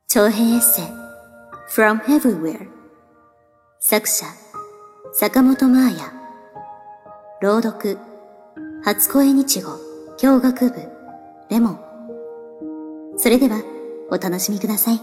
長編エッセイ From Everywhere 作者坂本真綾朗読初恋日語教学部レモン。それではお楽しみください。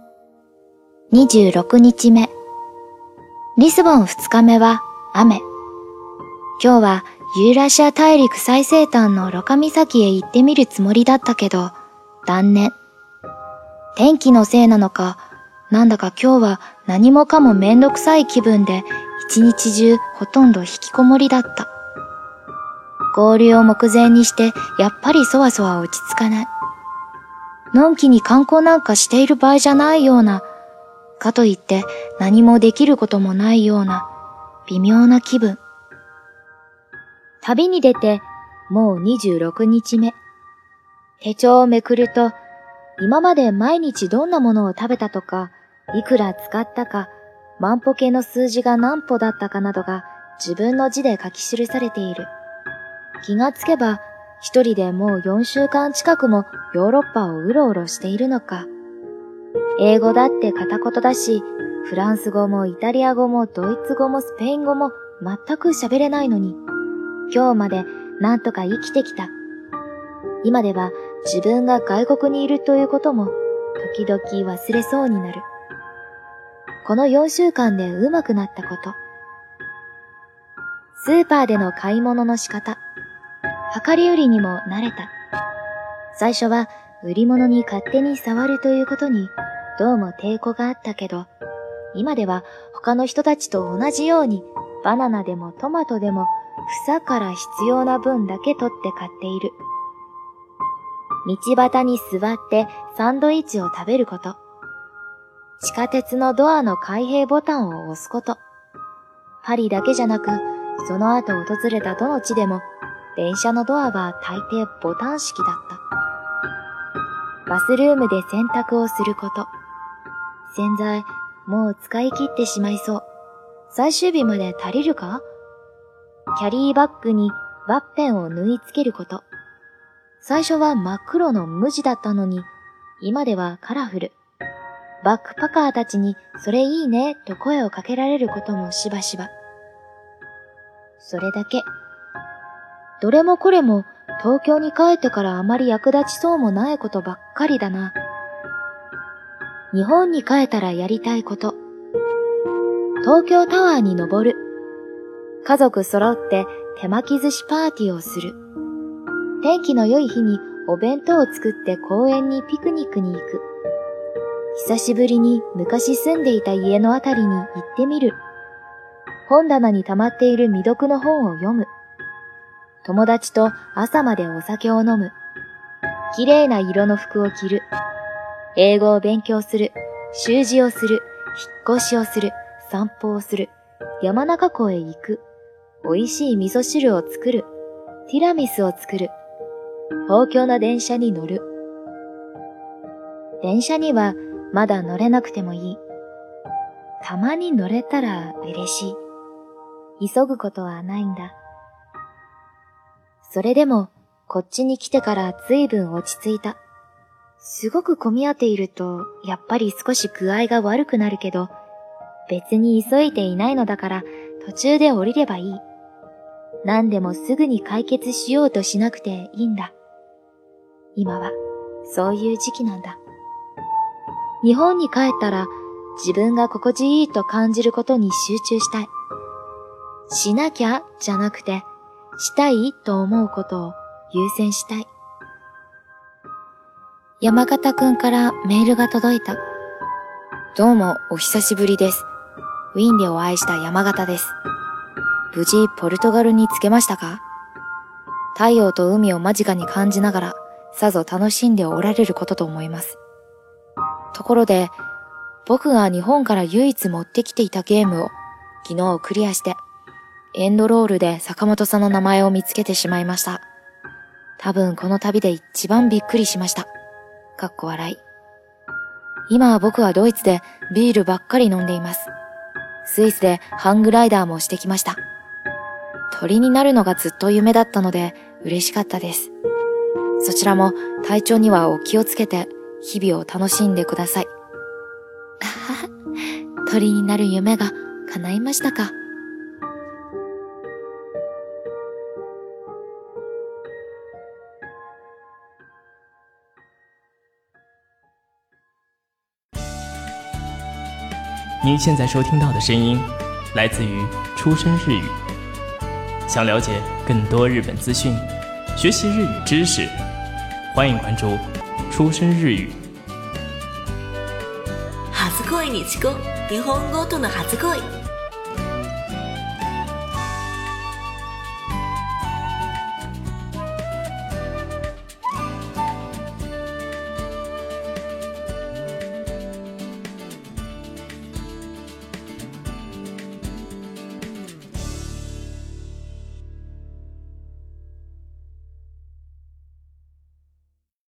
26日目。リスボン2日目は雨。今日はユーラシア大陸最西端のロカ岬へ行ってみるつもりだったけど断念。天気のせいなのか、なんだか今日は何もかもめんどくさい気分で一日中ほとんど引きこもりだった。合流を目前にしてやっぱりそわそわ落ち着かない。のんきに観光なんかしている場合じゃないような、かといって何もできることもないような微妙な気分。旅に出てもう26日目。手帳をめくると、今まで毎日どんなものを食べたとか、いくら使ったか、万歩計の数字が何歩だったかなどが自分の字で書き記されている。気がつけば、一人でもう4週間近くもヨーロッパをうろうろしているのか。英語だって片言だし、フランス語もイタリア語もドイツ語もスペイン語も全く喋れないのに、今日までなんとか生きてきた。今では自分が外国にいるということも時々忘れそうになる。この4週間で上手くなったこと。スーパーでの買い物の仕方。量り売りにも慣れた。最初は売り物に勝手に触るということにどうも抵抗があったけど、今では他の人たちと同じようにバナナでもトマトでも房から必要な分だけ取って買っている。道端に座ってサンドイッチを食べること。地下鉄のドアの開閉ボタンを押すこと。パリだけじゃなく、その後訪れたどの地でも、電車のドアは大抵ボタン式だった。バスルームで洗濯をすること。洗剤、もう使い切ってしまいそう。最終日まで足りるか？キャリーバッグにワッペンを縫い付けること。最初は真っ黒の無地だったのに、今ではカラフル。バックパカーたちにそれいいねと声をかけられることもしばしば。それだけ。どれもこれも東京に帰ってからあまり役立ちそうもないことばっかりだな。日本に帰ったらやりたいこと。東京タワーに登る。家族揃って手巻き寿司パーティーをする。天気の良い日にお弁当を作って公園にピクニックに行く。久しぶりに昔住んでいた家のあたりに行ってみる。本棚に溜まっている未読の本を読む。友達と朝までお酒を飲む。綺麗な色の服を着る。英語を勉強する。習字をする。引っ越しをする。散歩をする。山中湖へ行く。美味しい味噌汁を作る。ティラミスを作る。公共の電車に乗る。電車にはまだ乗れなくてもいい。たまに乗れたら嬉しい。急ぐことはないんだ。それでもこっちに来てから随分落ち着いた。すごく混み合っているとやっぱり少し具合が悪くなるけど、別に急いでいないのだから途中で降りればいい。何でもすぐに解決しようとしなくていいんだ。今はそういう時期なんだ。日本に帰ったら自分が心地いいと感じることに集中したい。しなきゃじゃなくて、したいと思うことを優先したい。山形くんからメールが届いた。 どうもお久しぶりです。ウィーンでお会いした山形です。無事ポルトガルに着けましたか？太陽と海を間近に感じながらさぞ楽しんでおられることと思います。ところで、僕が日本から唯一持ってきていたゲームを昨日クリアして、エンドロールで坂本さんの名前を見つけてしまいました。多分この旅で一番びっくりしました。かっこ笑い。今は僕はドイツでビールばっかり飲んでいます。スイスでハングライダーもしてきました。鳥になるのがずっと夢だったので嬉しかったです。そちらも体調にはお気をつけて日々を楽しんでください。 鳥になる夢が叶いましたか？ 您现在收听到的声音来自于出生日语。想了解更多日本资讯，学习日语知识，欢迎关注出生日语。 初恋に遅刻、日本語との初恋。